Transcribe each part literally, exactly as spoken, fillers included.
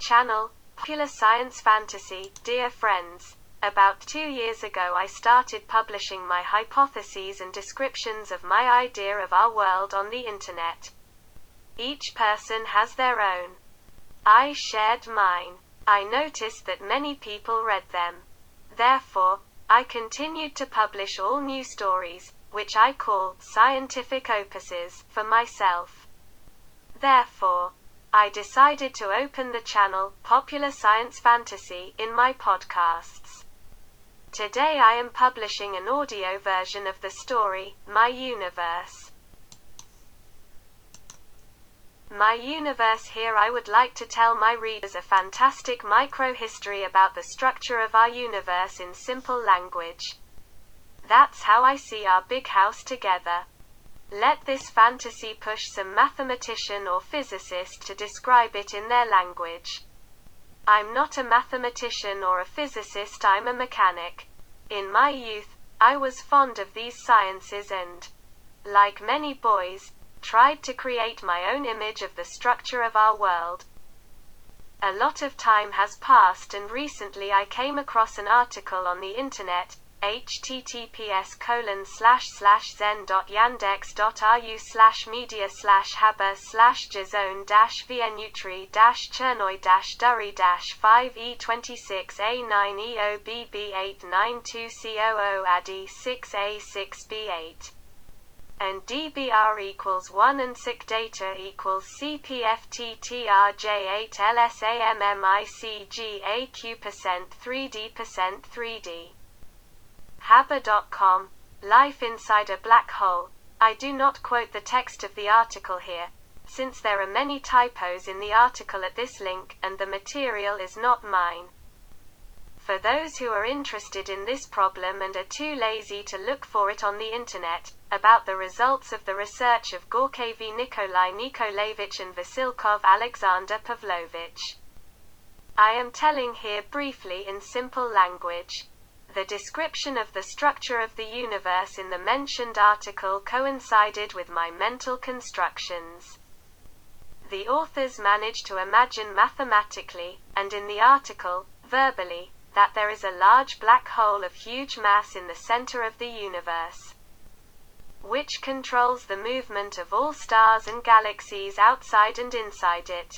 channel, Popular Science Fantasy. Dear friends, about two years ago I started publishing my hypotheses and descriptions of my idea of our world on the internet. Each person has their own. I shared mine. I noticed that many people read them. Therefore, I continued to publish all new stories, which I call scientific opuses, for myself. Therefore, I decided to open the channel, Popular Science Fantasy, in my podcasts. Today I am publishing an audio version of the story, My Universe. My Universe. Here I would like to tell my readers a fantastic micro-history about the structure of our universe in simple language. That's how I see our big house together. Let this fantasy push some mathematician or physicist to describe it in their language. I'm not a mathematician or a physicist, I'm a mechanic. In my youth, I was fond of these sciences and, like many boys, tried to create my own image of the structure of our world. A lot of time has passed and recently I came across an article on the internet, https colon slash slash zen dot yandex dot ru slash media slash haber slash jazone dash vienutri dash chernoi dash durry dash five e twenty-six a nine e o b b eight nine two c o o adi six a six b eight and dbr equals one and sic data equals cpfttrj eight lsammicgaq percent three d percent three d haber dot com, Life Inside a Black Hole. I do not quote the text of the article here, since there are many typos in the article at this link, and the material is not mine. For those who are interested in this problem and are too lazy to look for it on the internet, about the results of the research of Gorkaevy Nikolai Nikolaevich and Vasilkov Alexander Pavlovich. I am telling here briefly in simple language. The description of the structure of the universe in the mentioned article coincided with my mental constructions. The authors managed to imagine mathematically, and in the article, verbally, that there is a large black hole of huge mass in the center of the universe, which controls the movement of all stars and galaxies outside and inside it.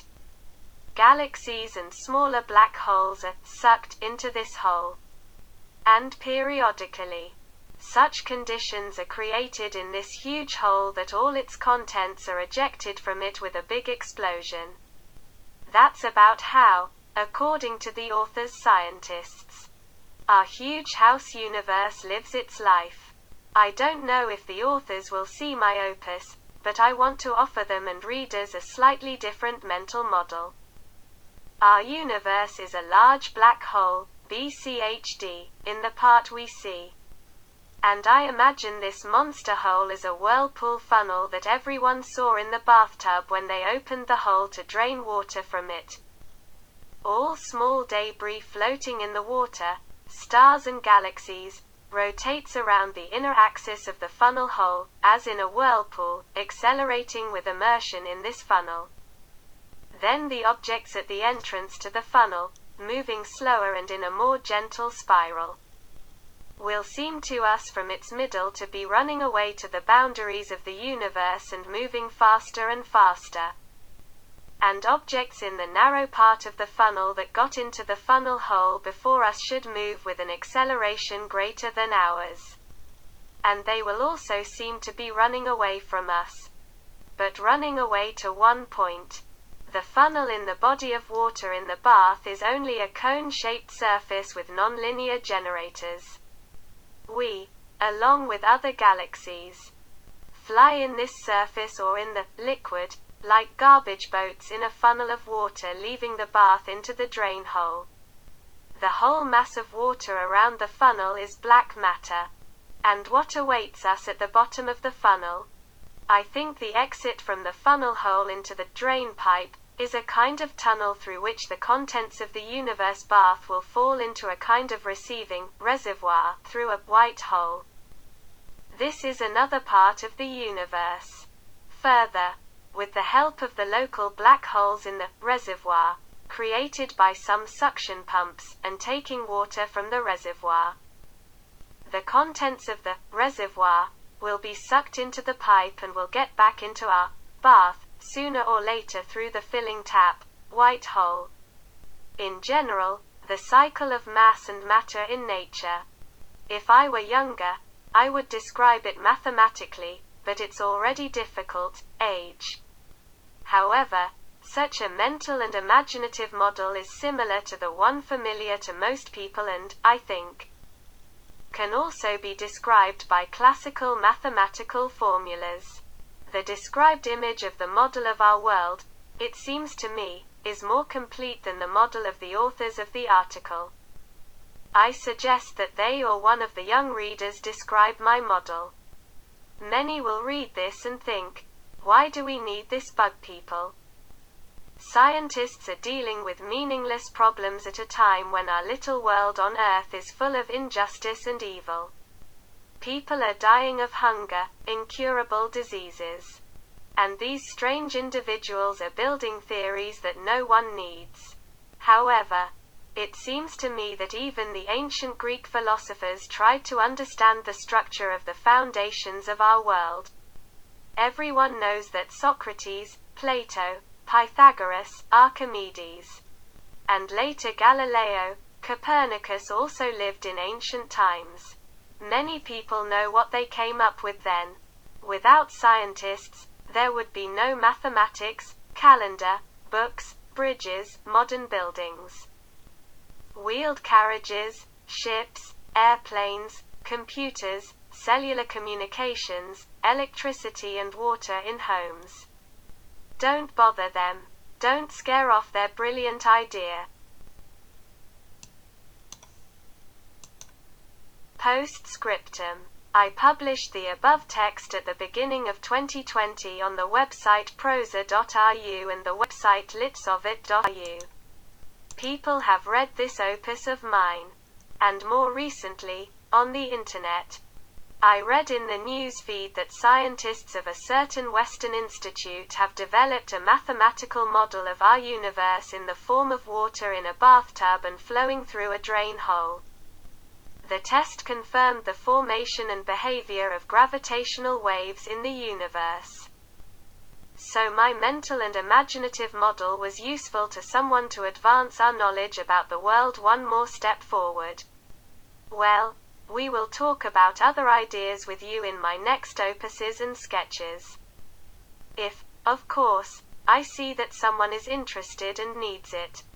Galaxies and smaller black holes are sucked into this hole. And periodically, such conditions are created in this huge hole that all its contents are ejected from it with a big explosion. That's about how, according to the author's scientists, our huge house universe lives its life. I don't know if the authors will see my opus, but I want to offer them and readers a slightly different mental model. Our universe is a large black hole, B C H D, in the part we see. And I imagine this monster hole as a whirlpool funnel that everyone saw in the bathtub when they opened the hole to drain water from it. All small debris floating in the water, stars and galaxies, rotates around the inner axis of the funnel hole, as in a whirlpool, accelerating with immersion in this funnel. Then the objects at the entrance to the funnel, moving slower and in a more gentle spiral, will seem to us from its middle to be running away to the boundaries of the universe and moving faster and faster. And objects in the narrow part of the funnel that got into the funnel hole before us should move with an acceleration greater than ours. And they will also seem to be running away from us. But running away to one point. The funnel in the body of water in the bath is only a cone-shaped surface with nonlinear generators. We, along with other galaxies, fly in this surface or in the liquid, like garbage boats in a funnel of water leaving the bath into the drain hole. The whole mass of water around the funnel is black matter. And what awaits us at the bottom of the funnel? I think the exit from the funnel hole into the drain pipe is a kind of tunnel through which the contents of the universe bath will fall into a kind of receiving reservoir through a white hole. This is another part of the universe. Further, with the help of the local black holes in the reservoir, created by some suction pumps, and taking water from the reservoir. The contents of the reservoir will be sucked into the pipe and will get back into our bath, sooner or later through the filling tap, white hole. In general, the cycle of mass and matter in nature. If I were younger, I would describe it mathematically, but it's already difficult, age. However, such a mental and imaginative model is similar to the one familiar to most people and, I think, can also be described by classical mathematical formulas. The described image of the model of our world, it seems to me, is more complete than the model of the authors of the article. I suggest that they or one of the young readers describe my model. Many will read this and think, why do we need this bug people? Scientists are dealing with meaningless problems at a time when our little world on Earth is full of injustice and evil. People are dying of hunger, incurable diseases. And these strange individuals are building theories that no one needs. However, it seems to me that even the ancient Greek philosophers tried to understand the structure of the foundations of our world. Everyone knows that Socrates, Plato, Pythagoras, Archimedes, and later Galileo, Copernicus also lived in ancient times. Many people know what they came up with then. Without scientists, there would be no mathematics, calendar, books, bridges, modern buildings, wheeled carriages, ships, airplanes, computers, cellular communications, electricity and water in homes. Don't bother them. Don't scare off their brilliant idea. Postscriptum. I published the above text at the beginning of twenty twenty on the website prosa dot r u and the website litsovit dot r u. People have read this opus of mine. And more recently, on the internet. I read in the news feed that scientists of a certain Western institute have developed a mathematical model of our universe in the form of water in a bathtub and flowing through a drain hole. The test confirmed the formation and behavior of gravitational waves in the universe. So my mental and imaginative model was useful to someone to advance our knowledge about the world one more step forward. Well, we will talk about other ideas with you in my next opuses and sketches. If, of course, I see that someone is interested and needs it.